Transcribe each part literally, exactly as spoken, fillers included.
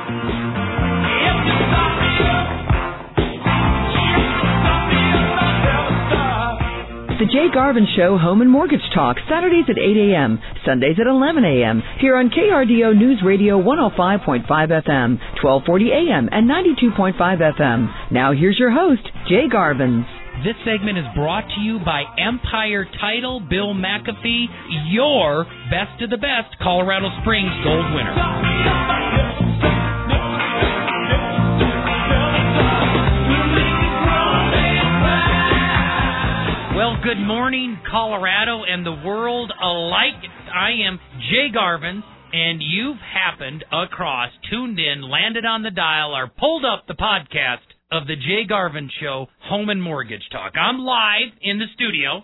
The Jay Garvin Show Home and Mortgage Talk, Saturdays at eight a.m., Sundays at eleven a.m., here on K R D O News Radio one oh five point five F M, twelve forty a.m., and ninety-two point five F M. Now here's your host, Jay Garvin. This segment is brought to you by Empire Title, Bill McAfee, your best of the best Colorado Springs gold winner. Well, good morning, Colorado and the world alike. I am Jay Garvin, and you've happened across, tuned in, landed on the dial, or pulled up the podcast of the Jay Garvin Show, Home and Mortgage Talk. I'm live in the studio,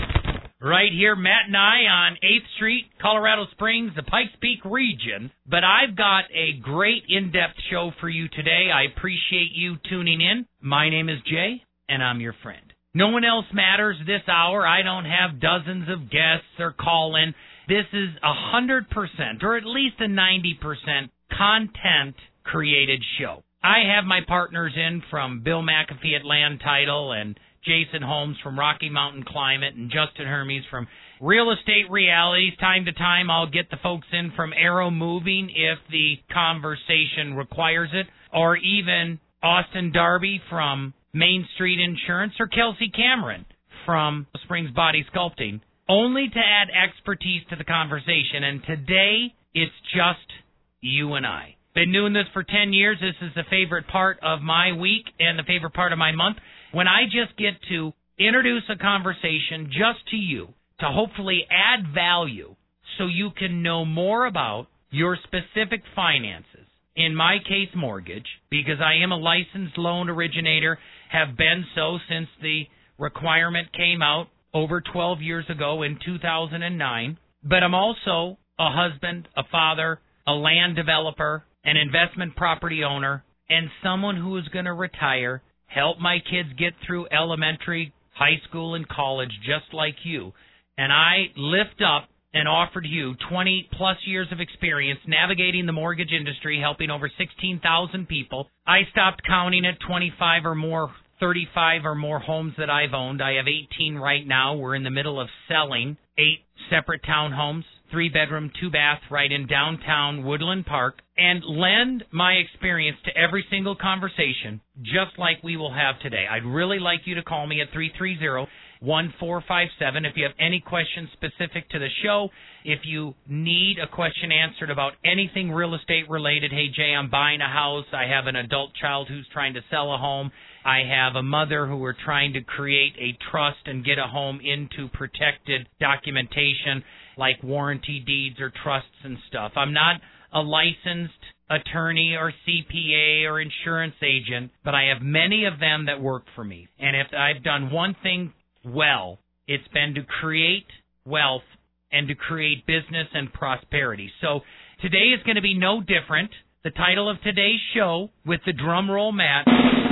right here, Matt and I, on eighth Street, Colorado Springs, the Pikes Peak region. But I've got a great in-depth show for you today. I appreciate you tuning in. My name is Jay, and I'm your friend. No one else matters this hour. I don't have dozens of guests or call-in. This is a one hundred percent, or at least a ninety percent, content-created show. I have my partners in from Bill McAfee at Land Title and Jason Holmes from Rocky Mountain Climate and Justin Hermes from Real Estate Realities. Time to time, I'll get the folks in from Arrow Moving if the conversation requires it, or even Austin Darby from Main Street Insurance, or Kelsey Cameron from Springs Body Sculpting, only to add expertise to the conversation. And today, it's just you and I. Been doing this for ten years. This is the favorite part of my week and the favorite part of my month, when I just get to introduce a conversation just to you to hopefully add value so you can know more about your specific finances. In my case, mortgage, because I am a licensed loan originator, have been so since the requirement came out over twelve years ago in two thousand nine. But I'm also a husband, a father, a land developer, an investment property owner, and someone who is going to retire, help my kids get through elementary, high school, and college just like you. And I lift up and offer to you twenty-plus years of experience navigating the mortgage industry, helping over sixteen thousand people. I stopped counting at twenty-five or more, thirty-five or more homes that I've owned. I have eighteen right now. We're in the middle of selling eight separate townhomes, three-bedroom, two-bath, right in downtown Woodland Park, and lend my experience to every single conversation, just like we will have today. I'd really like you to call me at three three zero, one four five seven if you have any questions specific to the show. If you need a question answered about anything real estate related, hey, Jay, I'm buying a house. I have an adult child who's trying to sell a home. I have a mother who we're trying to create a trust and get a home into protected documentation like warranty deeds or trusts and stuff. I'm not a licensed attorney or C P A or insurance agent, but I have many of them that work for me. And if I've done one thing well, it's been to create wealth and to create business and prosperity. So today is going to be no different. The title of today's show, with the drum roll, Matt,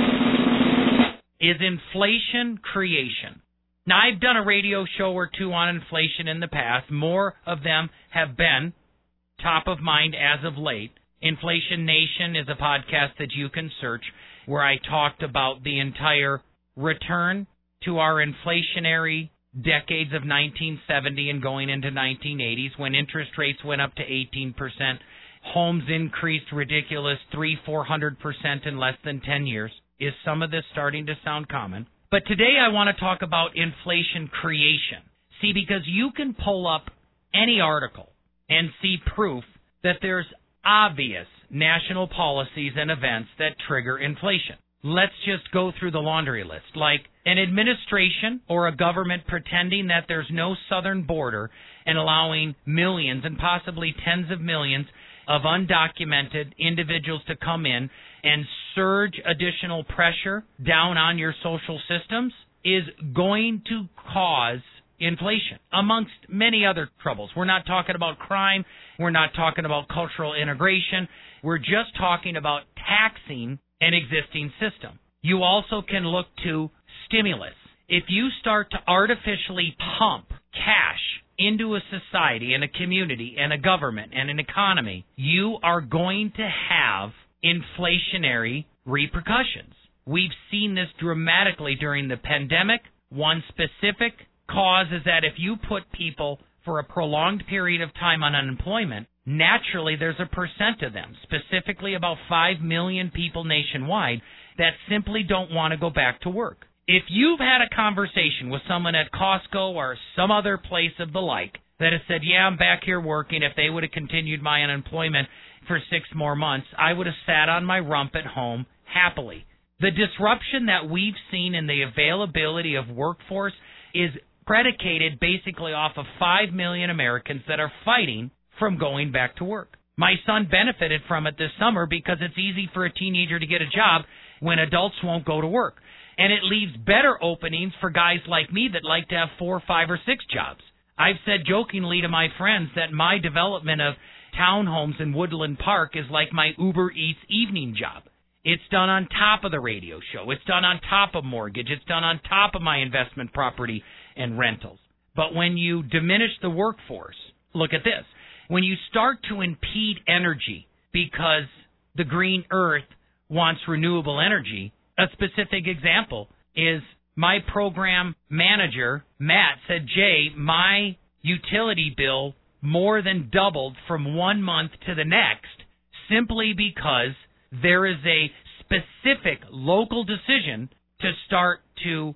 is Inflation Creation. Now, I've done a radio show or two on inflation in the past. More of them have been top of mind as of late. Inflation Nation is a podcast that you can search, where I talked about the entire return to our inflationary decades of nineteen seventy and going into nineteen eighties, when interest rates went up to eighteen percent. Homes increased ridiculous three, four hundred percent in less than ten years. Is some of this starting to sound common? But today I want to talk about inflation creation. See, because you can pull up any article and see proof that there's obvious national policies and events that trigger inflation. Let's just go through the laundry list, like an administration or a government pretending that there's no southern border and allowing millions and possibly tens of millions of undocumented individuals to come in and surge additional pressure down on your social systems is going to cause inflation, amongst many other troubles. We're not talking about crime. We're not talking about cultural integration. We're just talking about taxing an existing system. You also can look to stimulus. If you start to artificially pump cash into a society and a community and a government and an economy, you are going to have inflationary repercussions. We've seen this dramatically during the pandemic. One specific cause is that if you put people for a prolonged period of time on unemployment, naturally there's a percent of them, specifically about five million people nationwide, that simply don't want to go back to work. If you've had a conversation with someone at Costco or some other place of the like that has said, yeah, I'm back here working, if they would have continued my unemployment for six more months, I would have sat on my rump at home happily. The disruption that we've seen in the availability of workforce is predicated basically off of five million Americans that are fighting from going back to work. My son benefited from it this summer because it's easy for a teenager to get a job when adults won't go to work. And it leaves better openings for guys like me that like to have four, five, or six jobs. I've said jokingly to my friends that my development of townhomes in Woodland Park is like my Uber Eats evening job. It's done on top of the radio show. It's done on top of mortgage. It's done on top of my investment property and rentals. But when you diminish the workforce, look at this. When you start to impede energy because the green earth wants renewable energy, a specific example is my program manager, Matt, said, Jay, my utility bill more than doubled from one month to the next simply because there is a specific local decision to start to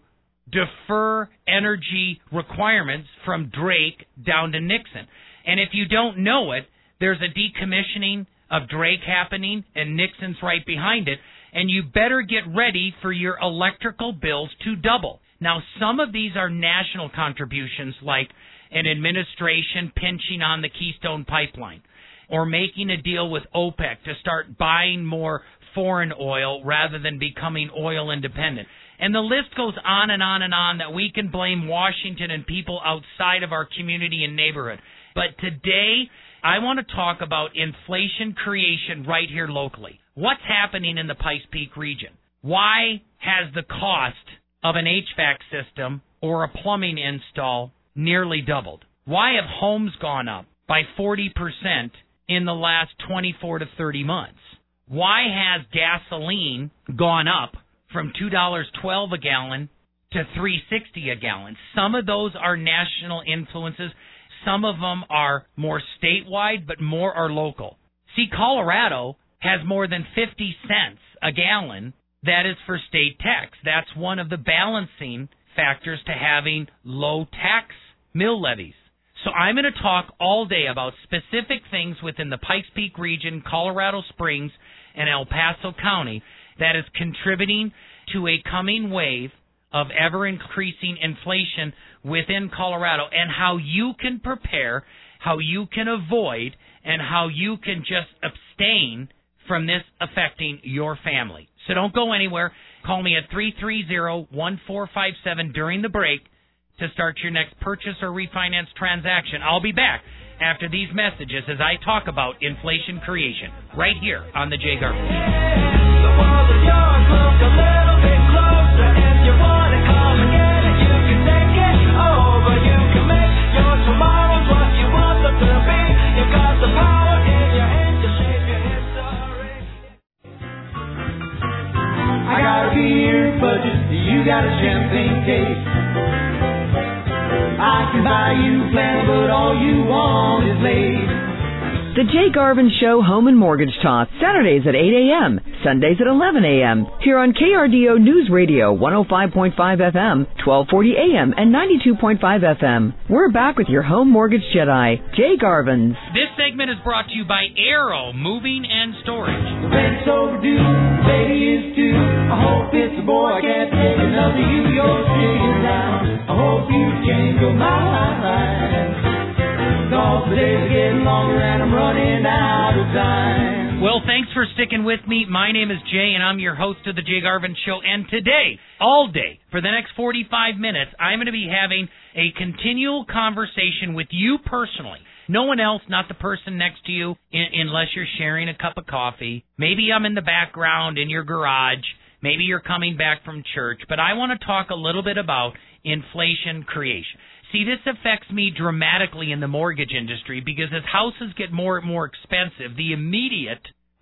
defer energy requirements from Drake down to Nixon. And if you don't know it, there's a decommissioning of Drake happening, and Nixon's right behind it, and you better get ready for your electrical bills to double. Now, some of these are national contributions, like an administration pinching on the Keystone Pipeline, or making a deal with OPEC to start buying more foreign oil rather than becoming oil independent. And the list goes on and on and on that we can blame Washington and people outside of our community and neighborhood. But today, I want to talk about inflation creation right here locally. What's happening in the Pikes Peak region? Why has the cost of an H V A C system or a plumbing install nearly doubled? Why have homes gone up by forty percent in the last twenty-four to thirty months? Why has gasoline gone up from two dollars and twelve cents a gallon to three dollars and sixty cents a gallon? Some of those are national influences. Some of them are more statewide, but more are local. See, Colorado has more than fifty cents a gallon. That is for state tax. That's one of the balancing factors to having low tax mill levies. So I'm going to talk all day about specific things within the Pikes Peak region, Colorado Springs, and El Paso County that is contributing to a coming wave of ever-increasing inflation within Colorado, and how you can prepare, how you can avoid, and how you can just abstain from this affecting your family. So don't go anywhere. Call me at three three zero, one four five seven during the break to start your next purchase or refinance transaction. I'll be back after these messages as I talk about inflation creation right here on The Jay Garvin I got a beer budget, you got a champagne taste. I can buy you plenty, but all you want is lace. The Jay Garvin Show Home and Mortgage Talk, Saturdays at eight a.m., Sundays at eleven a.m., here on K R D O News Radio, one oh five point five F M, twelve forty A M, and ninety-two point five F M. We're back with your home mortgage Jedi, Jay Garvins. This segment is brought to you by Arrow Moving and Storage. The rent's overdue, baby is due. I hope it's a boy, I can't take another you. You're sitting down, I hope you change your mind. Cause the days are getting longer and I'm running out of time. Well, thanks for sticking with me. My name is Jay, and I'm your host of The Jay Garvin Show. And today, all day, for the next forty-five minutes, I'm going to be having a continual conversation with you personally. No one else, not the person next to you, in, unless you're sharing a cup of coffee. Maybe I'm in the background in your garage. Maybe you're coming back from church. But I want to talk a little bit about inflation creation. See, this affects me dramatically in the mortgage industry because as houses get more and more expensive, the immediate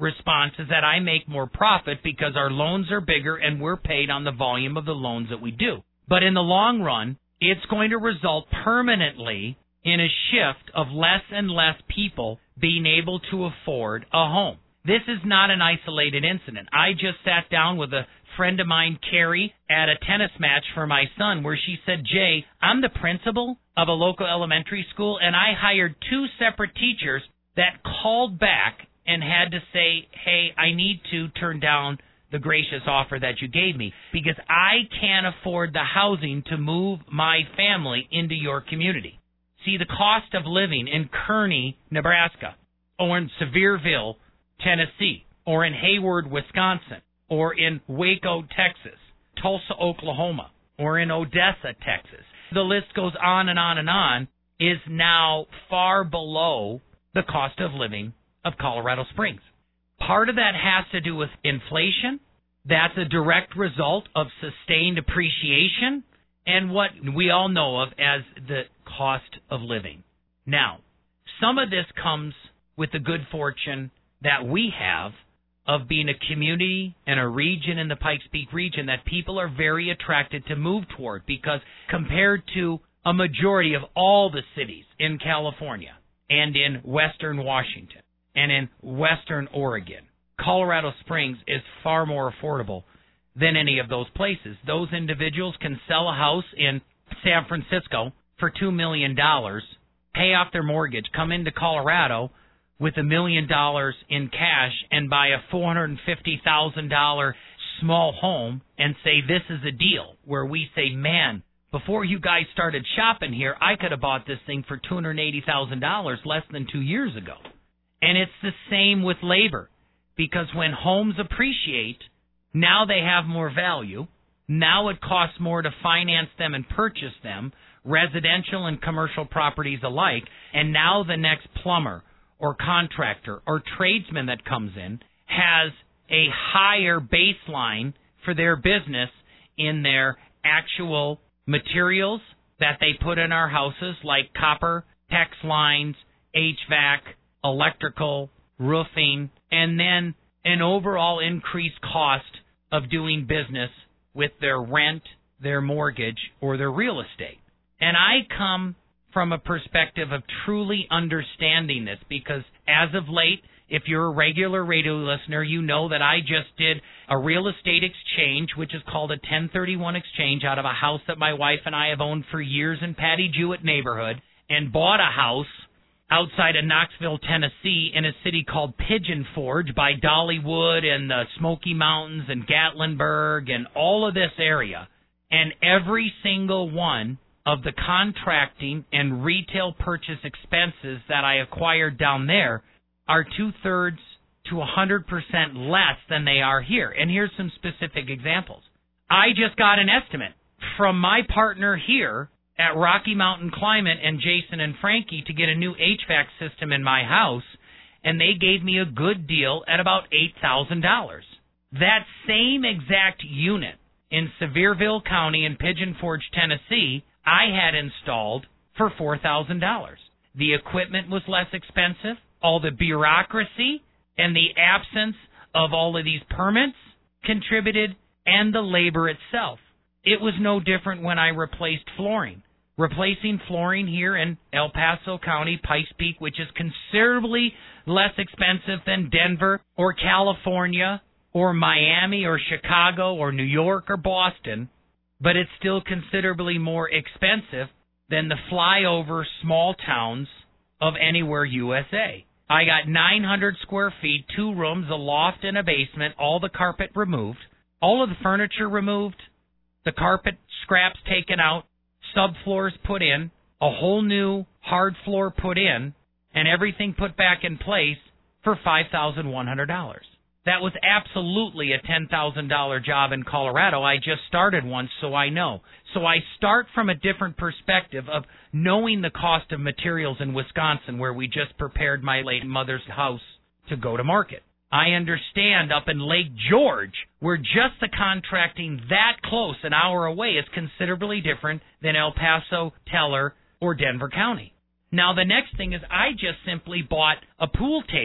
response is that I make more profit because our loans are bigger and we're paid on the volume of the loans that we do. But in the long run, it's going to result permanently in a shift of less and less people being able to afford a home. This is not an isolated incident. I just sat down with a friend of mine, Carrie, at a tennis match for my son where she said, Jay, I'm the principal of a local elementary school, and I hired two separate teachers that called back and had to say, hey, I need to turn down the gracious offer that you gave me because I can't afford the housing to move my family into your community. See, the cost of living in Kearney, Nebraska, or in Sevierville, Tennessee, or in Hayward, Wisconsin, or in Waco, Texas, Tulsa, Oklahoma, or in Odessa, Texas. The list goes on and on and on, is now far below the cost of living of Colorado Springs. Part of that has to do with inflation. That's a direct result of sustained appreciation and what we all know of as the cost of living. Now, some of this comes with the good fortune that we have of being a community and a region in the Pikes Peak region that people are very attracted to move toward because compared to a majority of all the cities in California and in western Washington and in western Oregon, Colorado Springs is far more affordable than any of those places. Those individuals can sell a house in San Francisco for two million dollars, pay off their mortgage, come into Colorado with a million dollars in cash and buy a four hundred fifty thousand dollars small home and say this is a deal, where we say, man, before you guys started shopping here, I could have bought this thing for two hundred eighty thousand dollars less than two years ago. And it's the same with labor, because when homes appreciate, now they have more value. Now it costs more to finance them and purchase them, residential and commercial properties alike, and now the next plumber or contractor or tradesman that comes in has a higher baseline for their business in their actual materials that they put in our houses, like copper, PEX lines, H V A C, electrical, roofing, and then an overall increased cost of doing business with their rent, their mortgage, or their real estate. And I come from a perspective of truly understanding this because as of late, if you're a regular radio listener, you know that I just did a real estate exchange, which is called a ten thirty-one exchange, out of a house that my wife and I have owned for years in Patty Jewett neighborhood, and bought a house outside of Knoxville, Tennessee, in a city called Pigeon Forge by Dollywood and the Smoky Mountains and Gatlinburg and all of this area. And every single one of the contracting and retail purchase expenses that I acquired down there are two-thirds to one hundred percent less than they are here. And here's some specific examples. I just got an estimate from my partner here at Rocky Mountain Climate and Jason and Frankie to get a new H V A C system in my house, and they gave me a good deal at about eight thousand dollars. That same exact unit in Sevierville County in Pigeon Forge, Tennessee, I had installed for four thousand dollars. The equipment was less expensive. All the bureaucracy and the absence of all of these permits contributed, and the labor itself. It was no different when I replaced flooring. Replacing flooring here in El Paso County, Pikes Peak, which is considerably less expensive than Denver or California or Miami or Chicago or New York or Boston, but it's still considerably more expensive than the flyover small towns of anywhere U S A. I got nine hundred square feet, two rooms, a loft, and a basement, all the carpet removed, all of the furniture removed, the carpet scraps taken out, subfloors put in, a whole new hard floor put in, and everything put back in place for five thousand one hundred dollars. That was absolutely a ten thousand dollars job in Colorado. I just started one, so I know. So I start from a different perspective of knowing the cost of materials in Wisconsin, where we just prepared my late mother's house to go to market. I understand up in Lake George, where just the contracting that close, an hour away, is considerably different than El Paso, Teller, or Denver County. Now, the next thing is I just simply bought a pool table.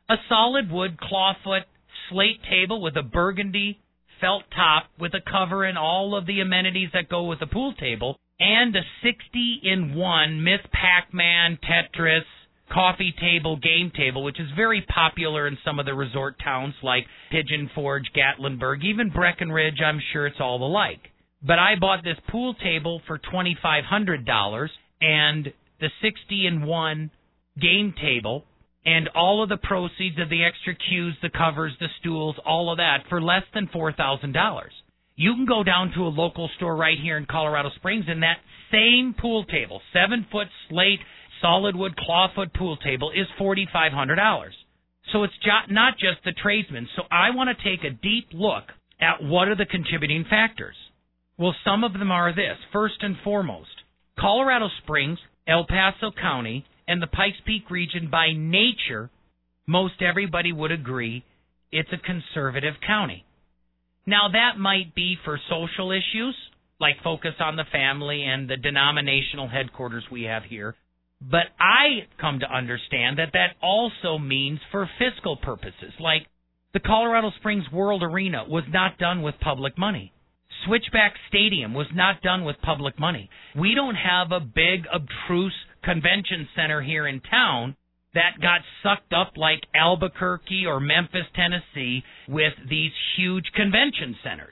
A solid wood clawfoot slate table with a burgundy felt top with a cover and all of the amenities that go with a pool table, and a sixty in one Miss Pac-Man, Tetris, coffee table, game table, which is very popular in some of the resort towns like Pigeon Forge, Gatlinburg, even Breckenridge. I'm sure it's all the like. But I bought this pool table for twenty-five hundred dollars and the sixty in one game table and all of the proceeds of the extra cues, the covers, the stools, all of that for less than four thousand dollars. You can go down to a local store right here in Colorado Springs, and that same pool table, seven-foot slate, solid wood clawfoot pool table, is four thousand five hundred dollars. So it's jo- not just the tradesmen. So I want to take a deep look at what are the contributing factors. Well, some of them are this. First and foremost, Colorado Springs, El Paso County, and the Pikes Peak region, by nature, most everybody would agree it's a conservative county. Now, that might be for social issues, like focus on the family and the denominational headquarters we have here. But I come to understand that that also means for fiscal purposes, like the Colorado Springs World Arena was not done with public money. Switchback Stadium was not done with public money. We don't have a big, obtruse convention center here in town that got sucked up like Albuquerque or Memphis, Tennessee, with these huge convention centers.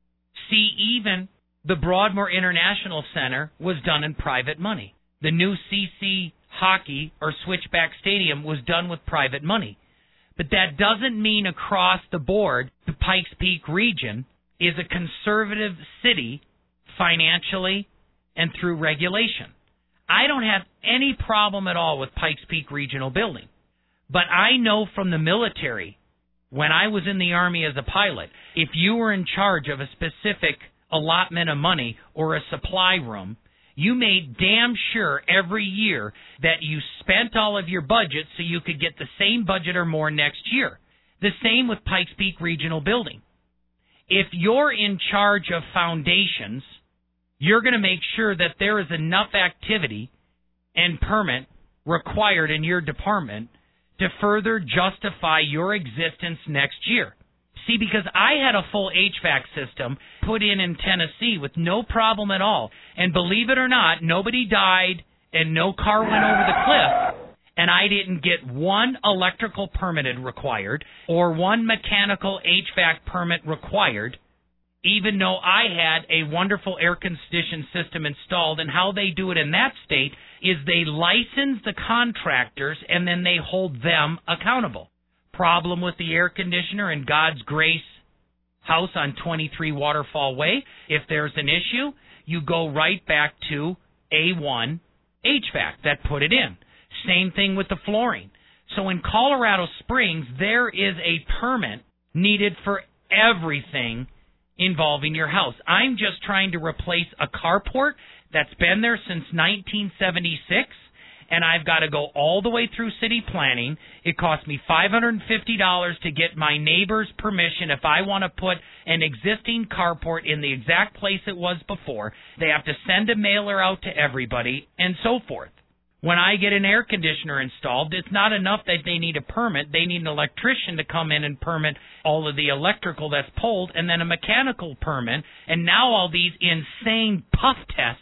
See, even the Broadmoor International Center was done in private money. The new C C Hockey or Switchback Stadium was done with private money. But that doesn't mean across the board the Pikes Peak region is a conservative city financially and through regulation. I don't have any problem at all with Pikes Peak Regional Building. But I know from the military, when I was in the Army as a pilot, if you were in charge of a specific allotment of money or a supply room, you made damn sure every year that you spent all of your budget so you could get the same budget or more next year. The same with Pikes Peak Regional Building. If you're in charge of foundations, you're going to make sure that there is enough activity and permit required in your department to further justify your existence next year. See, because I had a full H V A C system put in in Tennessee with no problem at all. And believe it or not, nobody died and no car went over the cliff. And I didn't get one electrical permitted required or one mechanical H V A C permit required, even though I had a wonderful air conditioning system installed. And how they do it in that state is they license the contractors and then they hold them accountable. Problem with the air conditioner in God's Grace house on twenty-three Waterfall Way, if there's an issue, you go right back to A one H V A C that put it in. Same thing with the flooring. So in Colorado Springs, there is a permit needed for everything involving your house. I'm just trying to replace a carport that's been there since nineteen seventy-six, and I've got to go all the way through city planning. It cost me five hundred fifty dollars to get my neighbor's permission if I want to put an existing carport in the exact place it was before. They have to send a mailer out to everybody and so forth. When I get an air conditioner installed, it's not enough that they need a permit. They need an electrician to come in and permit all of the electrical that's pulled, and then a mechanical permit, and now all these insane puff tests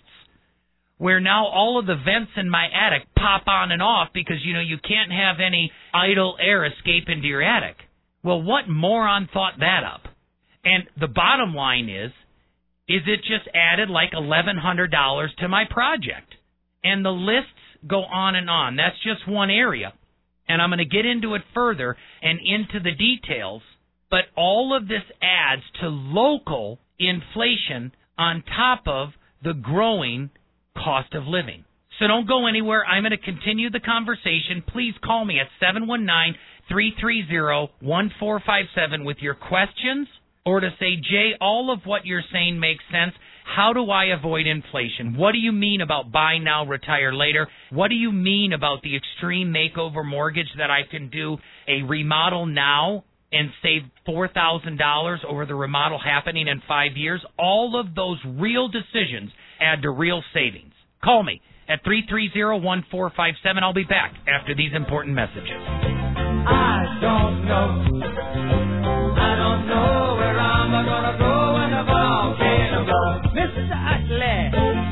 where now all of the vents in my attic pop on and off because, you know, you can't have any idle air escape into your attic. Well, what moron thought that up? And the bottom line is, is it just added like eleven hundred dollars to my project? And the lists go on and on. That's just one area. And I'm going to get into it further and into the details. But all of this adds to local inflation on top of the growing cost of living. So don't go anywhere. I'm going to continue the conversation. Please call me at seven one nine, three three zero, one four five seven with your questions, or to say, Jay, all of what you're saying makes sense. How do I avoid inflation? What do you mean about buy now, retire later? What do you mean about the extreme makeover mortgage that I can do a remodel now and save four thousand dollars over the remodel happening in five years? All of those real decisions add to real savings. Call me at three three zero, one four five seven. I'll be back after these important messages. I don't know. I don't know where I'm gonna go when the volcano blows. Mister Utley.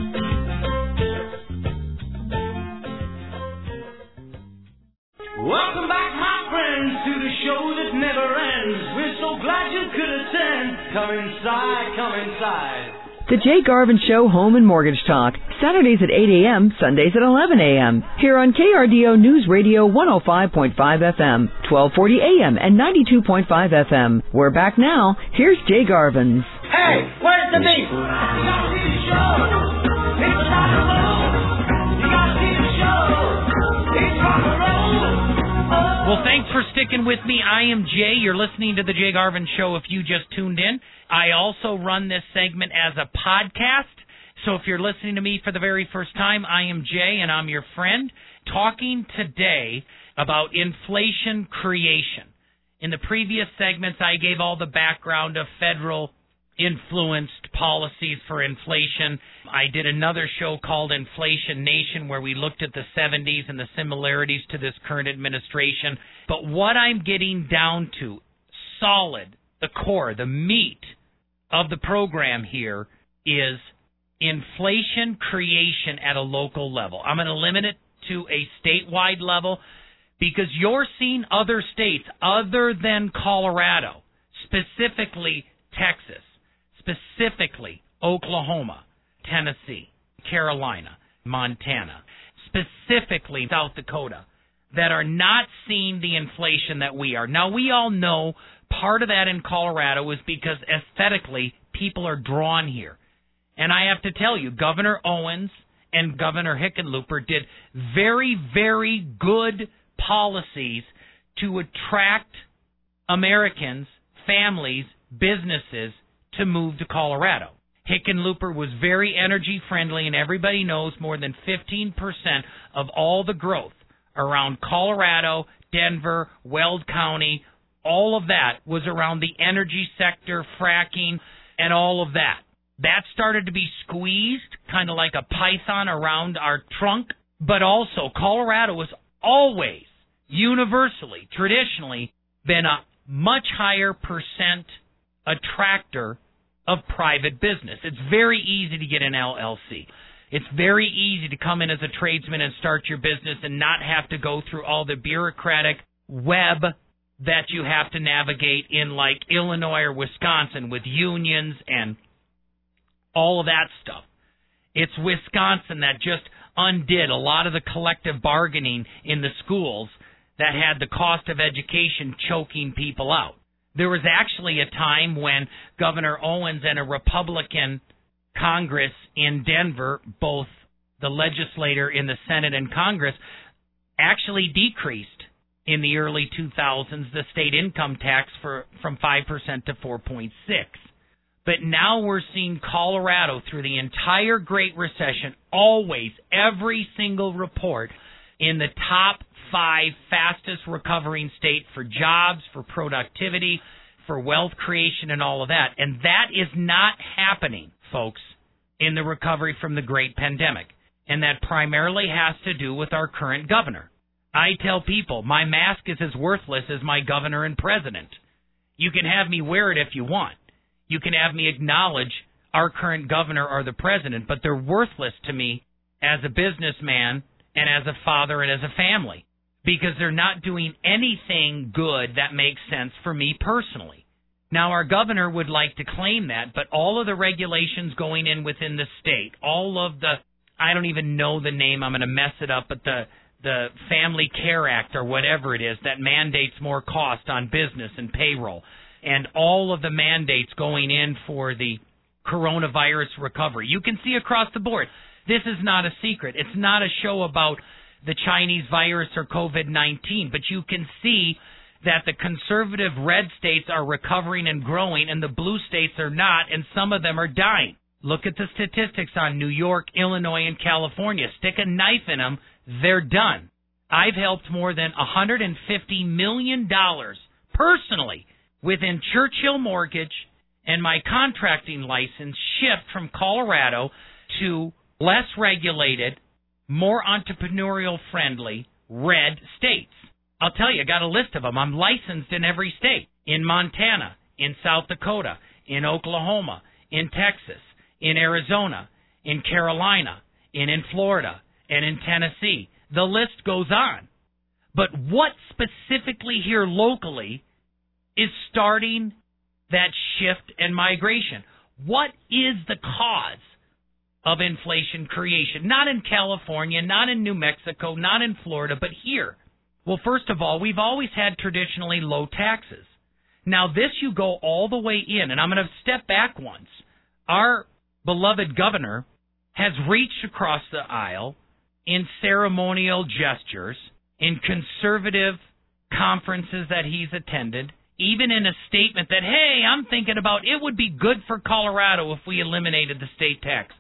Welcome back, my friends, to the show that never ends. We're so glad you could attend. Come inside, come inside. The Jay Garvin Show Home and Mortgage Talk, Saturdays at eight a.m., Sundays at eleven a.m. Here on K R D O News Radio one oh five point five F M, twelve forty A M and ninety-two point five F M. We're back now. Here's Jay Garvin. Hey, where's the beef? You gotta see the show. It's rock and roll. You gotta see the show. It's rock and roll. Well, thanks for sticking with me. I am Jay. You're listening to The Jay Garvin Show if you just tuned in. I also run this segment as a podcast. So if you're listening to me for the very first time, I am Jay, and I'm your friend, talking today about inflation creation. In the previous segments, I gave all the background of federal influenced policies for inflation. I did another show called Inflation Nation where we looked at the seventies and the similarities to this current administration. But what I'm getting down to, solid, the core, the meat of the program here is inflation creation at a local level. I'm going to limit it to a statewide level because you're seeing other states other than Colorado, specifically Texas, specifically Oklahoma, Tennessee, Carolina, Montana, specifically South Dakota, that are not seeing the inflation that we are. Now, we all know part of that in Colorado is because aesthetically people are drawn here. And I have to tell you, Governor Owens and Governor Hickenlooper did very, very good policies to attract Americans, families, businesses to move to Colorado. Hickenlooper was very energy friendly, and everybody knows more than fifteen percent of all the growth around Colorado, Denver, Weld County, all of that was around the energy sector, fracking, and all of that. That started to be squeezed, kind of like a python around our trunk, but also Colorado has always, universally, traditionally, been a much higher percent attractor of private business. It's very easy to get an L L C. It's very easy to come in as a tradesman and start your business and not have to go through all the bureaucratic web that you have to navigate in like Illinois or Wisconsin with unions and all of that stuff. It's Wisconsin that just undid a lot of the collective bargaining in the schools that had the cost of education choking people out. There was actually a time when Governor Owens and a Republican Congress in Denver, both the legislator in the Senate and Congress, actually decreased in the early two thousands the state income tax for from five percent to four point six. But now we're seeing Colorado through the entire Great Recession, always, every single report, in the top five fastest recovering state for jobs, for productivity, for wealth creation, and all of that. And that is not happening, folks, in the recovery from the great pandemic. And that primarily has to do with our current governor. I tell people, my mask is as worthless as my governor and president. You can have me wear it if you want. You can have me acknowledge our current governor or the president, but they're worthless to me as a businessman and as a father and as a family, because they're not doing anything good that makes sense for me personally. Now, our governor would like to claim that, but all of the regulations going in within the state, all of the, I don't even know the name, I'm going to mess it up, but the the Family Care Act or whatever it is that mandates more cost on business and payroll, and all of the mandates going in for the coronavirus recovery. You can see across the board. This is not a secret. It's not a show about the Chinese virus or COVID nineteen, but you can see that the conservative red states are recovering and growing, and the blue states are not, and some of them are dying. Look at the statistics on New York, Illinois, and California. Stick a knife in them, they're done. I've helped more than one hundred fifty million dollars personally within Churchill Mortgage and my contracting license shift from Colorado to less regulated, more entrepreneurial-friendly red states. I'll tell you, I got a list of them. I'm licensed in every state. In Montana, in South Dakota, in Oklahoma, in Texas, in Arizona, in Carolina, and in Florida, and in Tennessee. The list goes on. But what specifically here locally is starting that shift and migration? What is the cause of inflation creation? Not in California, not in New Mexico, not in Florida, but here. Well, first of all, we've always had traditionally low taxes. Now, this you go all the way in, and I'm going to step back once. Our beloved governor has reached across the aisle in ceremonial gestures, in conservative conferences that he's attended, even in a statement that, hey, I'm thinking about it would be good for Colorado if we eliminated the state tax.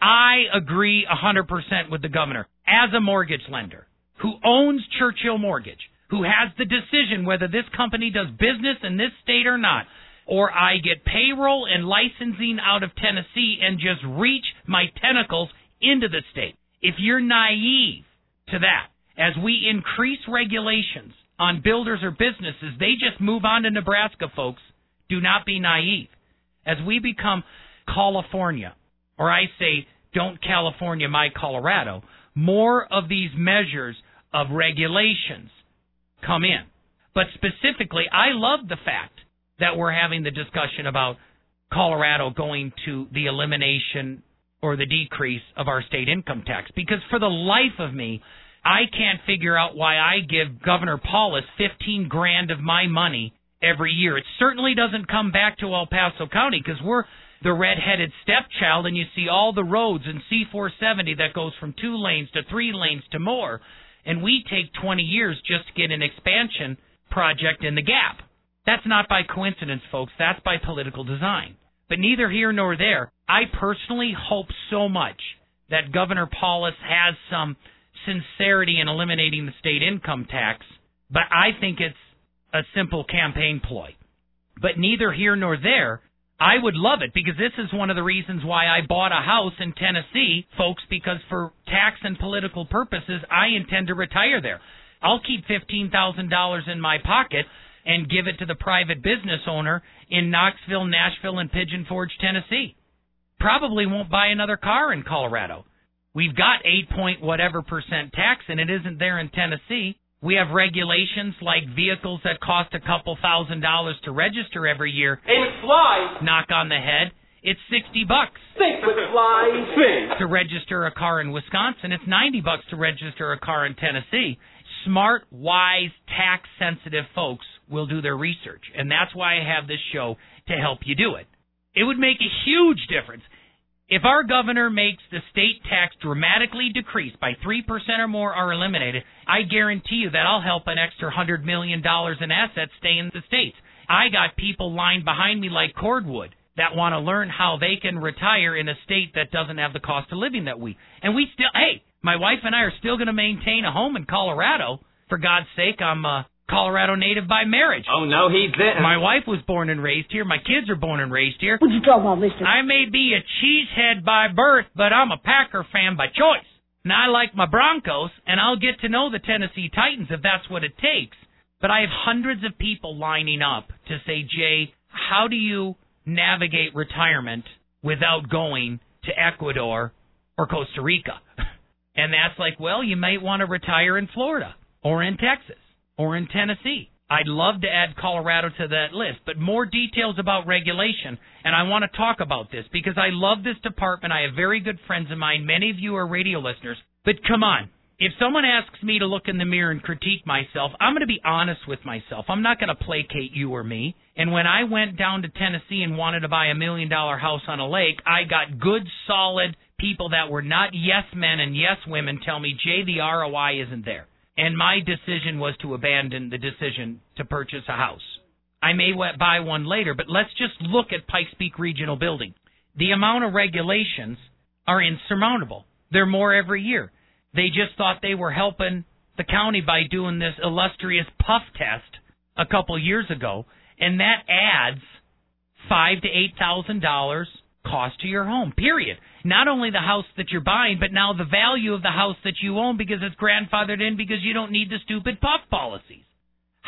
I agree one hundred percent with the governor. As a mortgage lender who owns Churchill Mortgage, who has the decision whether this company does business in this state or not, or I get payroll and licensing out of Tennessee and just reach my tentacles into the state. If you're naive to that, as we increase regulations on builders or businesses, they just move on to Nebraska, folks. Do not be naive. As we become California, or I say, don't California my Colorado, more of these measures of regulations come in. But specifically, I love the fact that we're having the discussion about Colorado going to the elimination or the decrease of our state income tax, because for the life of me, I can't figure out why I give Governor Paulus fifteen grand of my money every year. It certainly doesn't come back to El Paso County, because we're the red-headed stepchild, and you see all the roads in C four seventy that goes from two lanes to three lanes to more, and we take twenty years just to get an expansion project in the gap. That's not by coincidence, folks. That's by political design. But neither here nor there. I personally hope so much that Governor Paulus has some sincerity in eliminating the state income tax, but I think it's a simple campaign ploy. But neither here nor there. I would love it, because this is one of the reasons why I bought a house in Tennessee, folks, because for tax and political purposes, I intend to retire there. I'll keep fifteen thousand dollars in my pocket and give it to the private business owner in Knoxville, Nashville, and Pigeon Forge, Tennessee. Probably won't buy another car in Colorado. We've got eight point whatever percent tax, and it isn't there in Tennessee. We have regulations like vehicles that cost a couple thousand dollars to register every year. And flies. Knock on the head. It's sixty bucks. Think with flying fish. To register a car in Wisconsin. It's ninety bucks to register a car in Tennessee. Smart, wise, tax-sensitive folks will do their research, and that's why I have this show to help you do it. It would make a huge difference. If our governor makes the state tax dramatically decrease by three percent or more or eliminated, I guarantee you that I'll help an extra one hundred million dollars in assets stay in the states. I got people lined behind me like cordwood that want to learn how they can retire in a state that doesn't have the cost of living that we. And we still, hey, my wife and I are still going to maintain a home in Colorado. For God's sake, I'm a Colorado native by marriage. Oh, no, he's there. My wife was born and raised here. My kids are born and raised here. What you talking about, mister? I may be a cheesehead by birth, but I'm a Packer fan by choice. And I like my Broncos, and I'll get to know the Tennessee Titans if that's what it takes. But I have hundreds of people lining up to say, Jay, how do you navigate retirement without going to Ecuador or Costa Rica? And that's like, well, you might want to retire in Florida or in Texas or in Tennessee. I'd love to add Colorado to that list, but more details about regulation, and I want to talk about this because I love this department. I have very good friends of mine. Many of you are radio listeners, but come on. If someone asks me to look in the mirror and critique myself, I'm going to be honest with myself. I'm not going to placate you or me. And when I went down to Tennessee and wanted to buy a million-dollar house on a lake, I got good, solid people that were not yes men and yes women tell me, Jay, the R O I isn't there. And my decision was to abandon the decision to purchase a house. I may buy one later, but let's just look at Pikes Peak Regional Building. The amount of regulations are insurmountable. They're more every year. They just thought they were helping the county by doing this illustrious puff test a couple years ago, and that adds five to eight thousand dollars cost to your home. Period. Not only the house that you're buying, but now the value of the house that you own because it's grandfathered in because you don't need the stupid puff policies.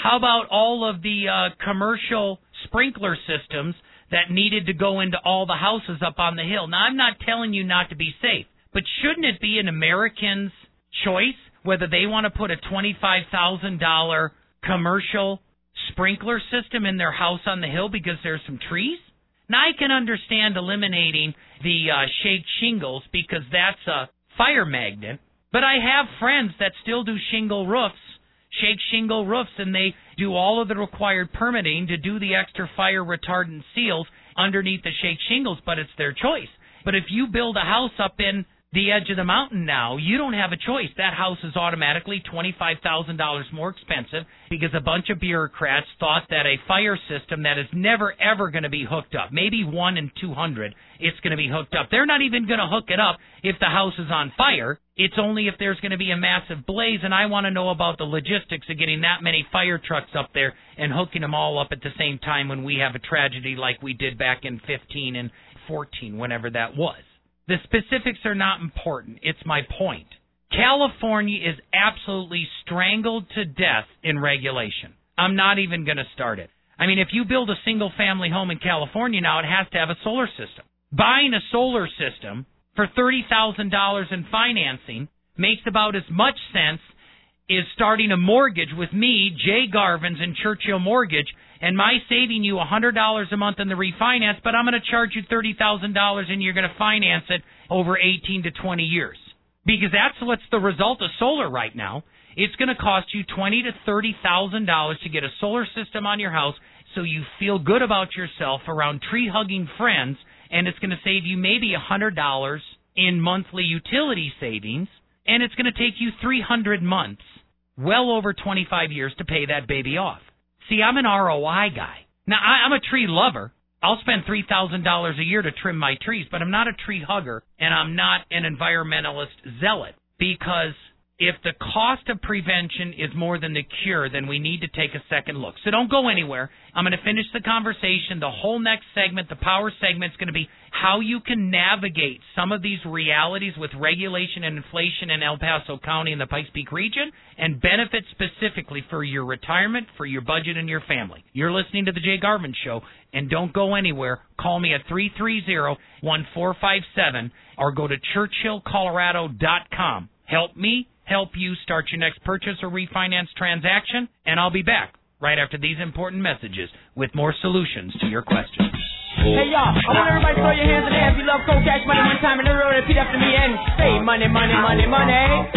How about all of the uh, commercial sprinkler systems that needed to go into all the houses up on the hill? Now, I'm not telling you not to be safe, but shouldn't it be an American's choice whether they want to put a twenty-five thousand dollars commercial sprinkler system in their house on the hill because there's some trees? Now, I can understand eliminating the uh, shake shingles because that's a fire magnet, but I have friends that still do shingle roofs, shake shingle roofs, and they do all of the required permitting to do the extra fire retardant seals underneath the shake shingles, but it's their choice. But if you build a house up in the edge of the mountain now, you don't have a choice. That house is automatically twenty-five thousand dollars more expensive because a bunch of bureaucrats thought that a fire system that is never, ever going to be hooked up, maybe one in two hundred, it's going to be hooked up. They're not even going to hook it up if the house is on fire. It's only if there's going to be a massive blaze, and I want to know about the logistics of getting that many fire trucks up there and hooking them all up at the same time when we have a tragedy like we did back in fifteen and fourteen, whenever that was. The specifics are not important. It's my point. California is absolutely strangled to death in regulation. I'm not even going to start it. I mean, if you build a single-family home in California now, it has to have a solar system. Buying a solar system for thirty thousand dollars in financing makes about as much sense as starting a mortgage with me, Jay Garvins, and Churchill Mortgage, and my saving you one hundred dollars a month in the refinance, but I'm going to charge you thirty thousand dollars and you're going to finance it over eighteen to twenty years. Because that's what's the result of solar right now. It's going to cost you twenty thousand to thirty thousand dollars to get a solar system on your house so you feel good about yourself around tree-hugging friends, and it's going to save you maybe one hundred dollars in monthly utility savings, and it's going to take you three hundred months, well over twenty-five years, to pay that baby off. See, I'm an R O I guy. Now, I, I'm a tree lover. I'll spend three thousand dollars a year to trim my trees, but I'm not a tree hugger, and I'm not an environmentalist zealot, because if the cost of prevention is more than the cure, then we need to take a second look. So don't go anywhere. I'm going to finish the conversation. The whole next segment, the power segment, is going to be how you can navigate some of these realities with regulation and inflation in El Paso County and the Pikes Peak region, and benefit specifically for your retirement, for your budget, and your family. You're listening to The Jay Garvin Show, and don't go anywhere. Call me at three three zero, one four five seven or go to churchill colorado dot com. Help me help you start your next purchase or refinance transaction, and I'll be back right after these important messages with more solutions to your questions. Hey y'all, I want everybody to throw your hands in the air if you love cold cash money one time, and everyone repeat after me and say money, money, money, money.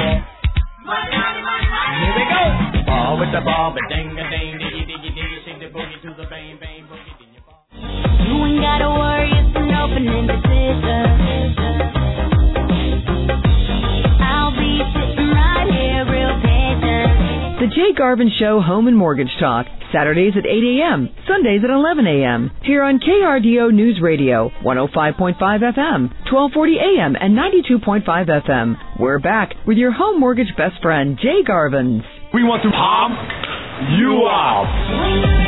Money, money, money, money. Here we go. Ball with the ball, but ding a ding, diggy diggy diggy, shake the boogie to the bang bang boogie. Ding your ball. You ain't gotta worry, it's an opening decision. I'll be sitting right here, real patient. The Jay Garvin Show Home and Mortgage Talk, Saturdays at eight a.m., Sundays at eleven a.m., here on K R D O News Radio, one oh five point five F M, twelve forty A M, and ninety-two point five F M. We're back with your home mortgage best friend, Jay Garvins. We want to pump you up.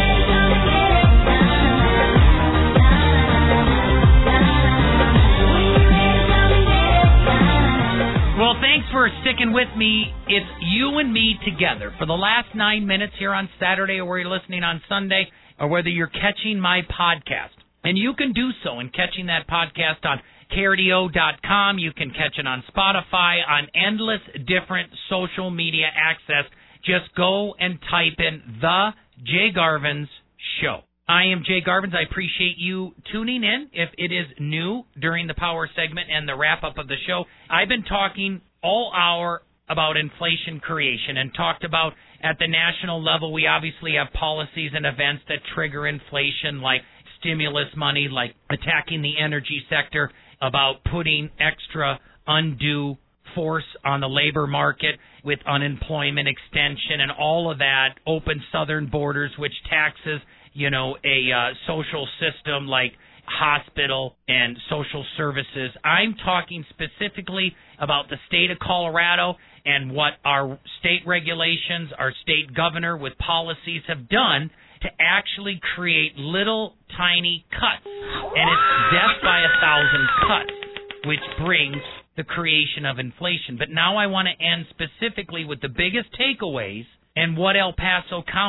Well, thanks for sticking with me. It's you and me together for the last nine minutes here on Saturday, or where you're listening on Sunday, or whether you're catching my podcast. And you can do so in catching that podcast on K R D O dot com. You can catch it on Spotify, on endless different social media access. Just go and type in The Jay Garvins Show. I am Jay Garvins. I appreciate you tuning in. If it is new during the power segment and the wrap-up of the show, I've been talking all hour about inflation creation and talked about at the national level, we obviously have policies and events that trigger inflation, like stimulus money, like attacking the energy sector, about putting extra undue force on the labor market with unemployment extension and all of that, open southern borders, which taxes, you know, a uh, social system like hospital and social services. I'm talking specifically about the state of Colorado and what our state regulations, our state governor with policies have done to actually create little tiny cuts. And it's death by a thousand cuts, which brings the creation of inflation. But now I want to end specifically with the biggest takeaways and what El Paso County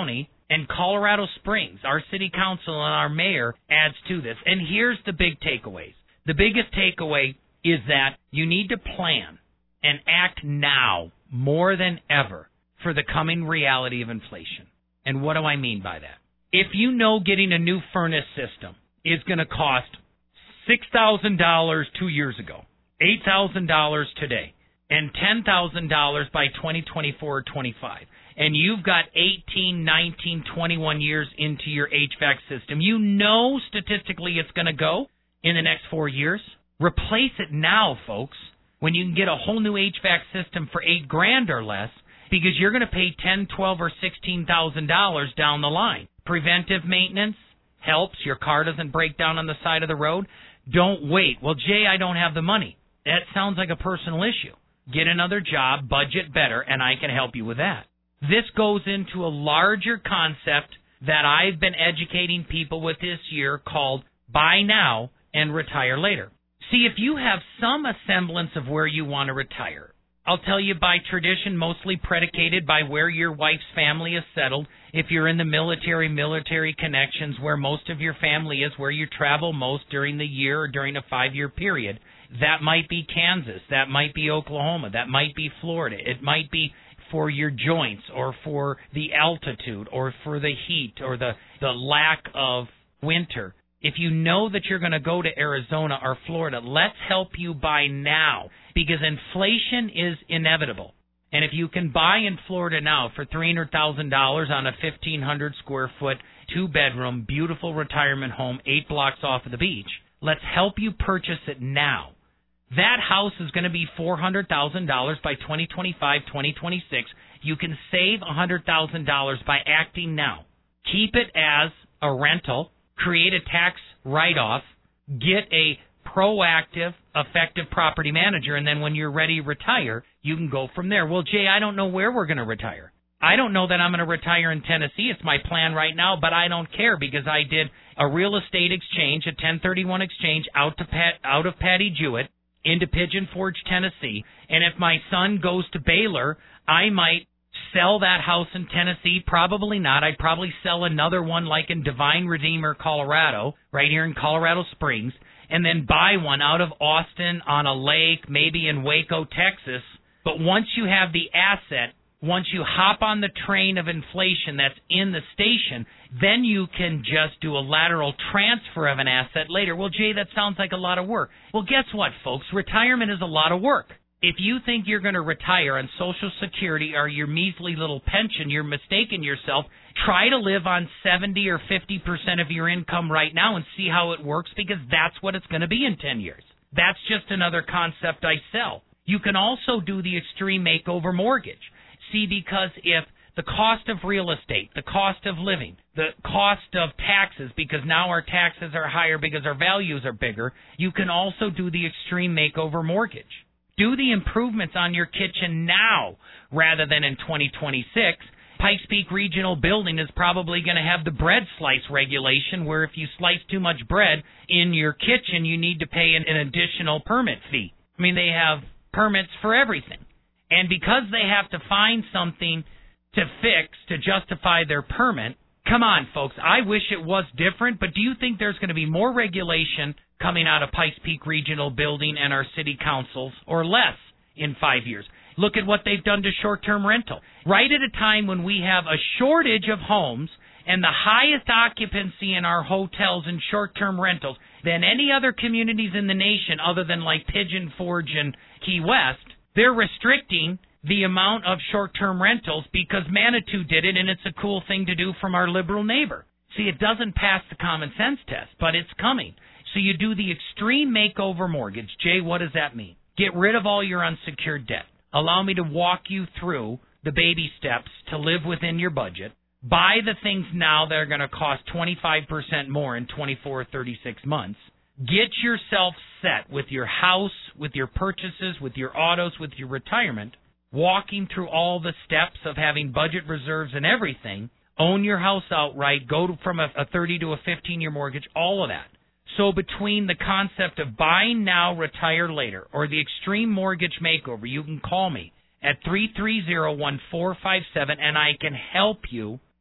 And Colorado Springs, our city council and our mayor adds to this. And here's the big takeaways. The biggest takeaway is that you need to plan and act now more than ever for the coming reality of inflation. And what do I mean by that? If you know getting a new furnace system is going to cost six thousand dollars two years ago, eight thousand dollars today, and ten thousand dollars by twenty twenty-four or twenty-five, and you've got eighteen, nineteen, twenty-one years into your H V A C system, you know statistically it's going to go in the next four years. Replace it now, folks, when you can get a whole new H V A C system for eight grand or less, because you're going to pay ten, twelve, or sixteen thousand dollars down the line. Preventive maintenance helps. Your car doesn't break down on the side of the road. Don't wait. Well, Jay, I don't have the money. That sounds like a personal issue. Get another job, budget better, and I can help you with that. This goes into a larger concept that I've been educating people with this year called buy now and retire later. See, if you have some semblance of where you want to retire, I'll tell you by tradition, mostly predicated by where your wife's family is settled. If you're in the military, military connections, where most of your family is, where you travel most during the year or during a five-year period, that might be Kansas, that might be Oklahoma, that might be Florida. It might be for your joints or for the altitude or for the heat or the, the lack of winter. If you know that you're going to go to Arizona or Florida, let's help you buy now, because inflation is inevitable. And if you can buy in Florida now for three hundred thousand dollars on a fifteen hundred square foot, two-bedroom, beautiful retirement home, eight blocks off of the beach, let's help you purchase it now. That house is going to be four hundred thousand dollars by twenty twenty-five, twenty twenty-six. You can save one hundred thousand dollars by acting now. Keep it as a rental. Create a tax write-off, get a proactive, effective property manager, and then when you're ready to retire, you can go from there. Well, Jay, I don't know where we're going to retire. I don't know that I'm going to retire in Tennessee. It's my plan right now, but I don't care because I did a real estate exchange, a ten thirty-one exchange out to Pat, out of Patty Jewett into Pigeon Forge, Tennessee, and if my son goes to Baylor, I might sell that house in Tennessee? Probably not. I'd probably sell another one like in Divine Redeemer, Colorado, right here in Colorado Springs, and then buy one out of Austin on a lake, maybe in Waco, Texas. But once you have the asset, once you hop on the train of inflation that's in the station, then you can just do a lateral transfer of an asset later. Well, Jay, that sounds like a lot of work. Well, guess what, folks? Retirement is a lot of work. If you think you're going to retire on Social Security or your measly little pension, you're mistaking yourself. Try to live on seventy or fifty percent of your income right now and see how it works, because that's what it's going to be in ten years. That's just another concept I sell. You can also do the extreme makeover mortgage. See, because if the cost of real estate, the cost of living, the cost of taxes, because now our taxes are higher because our values are bigger, you can also do the extreme makeover mortgage. Do the improvements on your kitchen now rather than in twenty twenty-six. Pikes Peak Regional Building is probably going to have the bread slice regulation where if you slice too much bread in your kitchen, you need to pay an, an additional permit fee. I mean, they have permits for everything. And because they have to find something to fix to justify their permit, come on, folks, I wish it was different, but do you think there's going to be more regulation coming out of Pikes Peak Regional Building and our city councils, or less, in five years? Look at what they've done to short-term rental. Right at a time when we have a shortage of homes and the highest occupancy in our hotels and short-term rentals than any other communities in the nation other than like Pigeon Forge and Key West, they're restricting the amount of short-term rentals because Manitou did it, and it's a cool thing to do from our liberal neighbor. See, it doesn't pass the common sense test, but it's coming. So you do the extreme makeover mortgage. Jay, what does that mean? Get rid of all your unsecured debt. Allow me to walk you through the baby steps to live within your budget. Buy the things now that are going to cost twenty-five percent more in twenty-four or thirty-six months. Get yourself set with your house, with your purchases, with your autos, with your retirement, walking through all the steps of having budget reserves and everything. Own your house outright. Go to, from a, a thirty to a fifteen-year mortgage, all of that. So between the concept of buying now, retire later, or the extreme mortgage makeover, you can call me at three three zero, one four five seven, and I can help you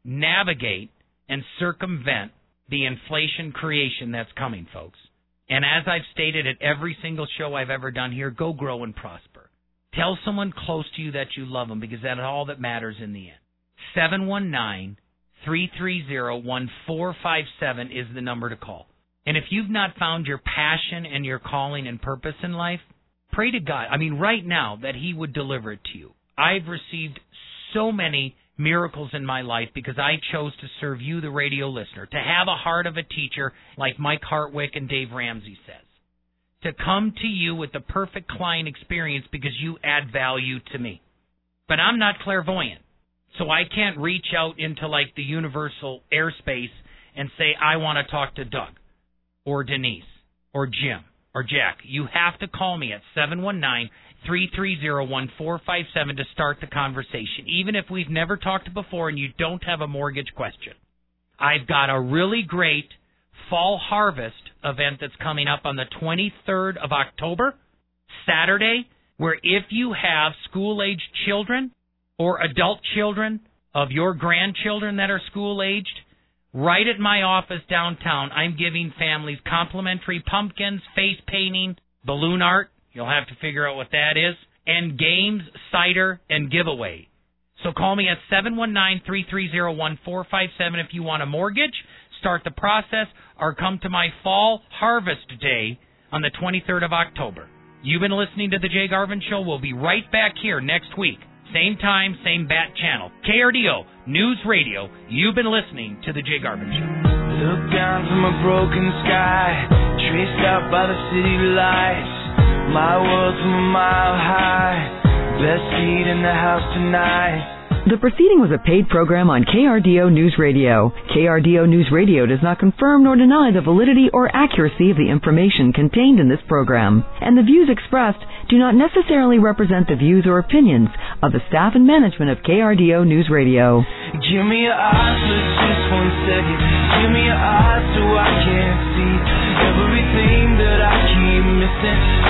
navigate and circumvent the inflation creation that's coming, folks. And as I've stated at every single show I've ever done here, go grow and prosper. Tell someone close to you that you love them, because that's all that matters in the end. seven one nine, three three zero, one four five seven is the number to call. And if you've not found your passion and your calling and purpose in life, pray to God, I mean right now, that He would deliver it to you. I've received so many miracles in my life because I chose to serve you, the radio listener, to have a heart of a teacher like Mike Hartwick and Dave Ramsey says, to come to you with the perfect client experience because you add value to me. But I'm not clairvoyant, so I can't reach out into like the universal airspace and say, I want to talk to Doug or Denise or Jim or Jack. You have to call me at seven one nine, three three zero, one four five seven to start the conversation, even if we've never talked before and you don't have a mortgage question. I've got a really great fall harvest event that's coming up on the twenty-third of October, Saturday, where if you have school-aged children or adult children of your grandchildren that are school-aged, right at my office downtown, I'm giving families complimentary pumpkins, face painting, balloon art, you'll have to figure out what that is, and games, cider, and giveaway. So call me at seven one nine, three three zero, one four five seven if you want a mortgage, start the process, or come to my fall harvest day on the twenty-third of October. You've been listening to The Jay Garvin Show. We'll be right back here next week. Same time, same bat channel. K R D O News Radio. You've been listening to The Jay Garvin Show. Look down from a broken sky, traced out by the city lights. My world's from a mile high, best seat in the house tonight. The proceeding was a paid program on K R D O News Radio. K R D O News Radio does not confirm nor deny the validity or accuracy of the information contained in this program, and the views expressed do not necessarily represent the views or opinions of the staff and management of K R D O News Radio. Give me your eyes for just one second. Give me your eyes so I can see everything that I keep missing.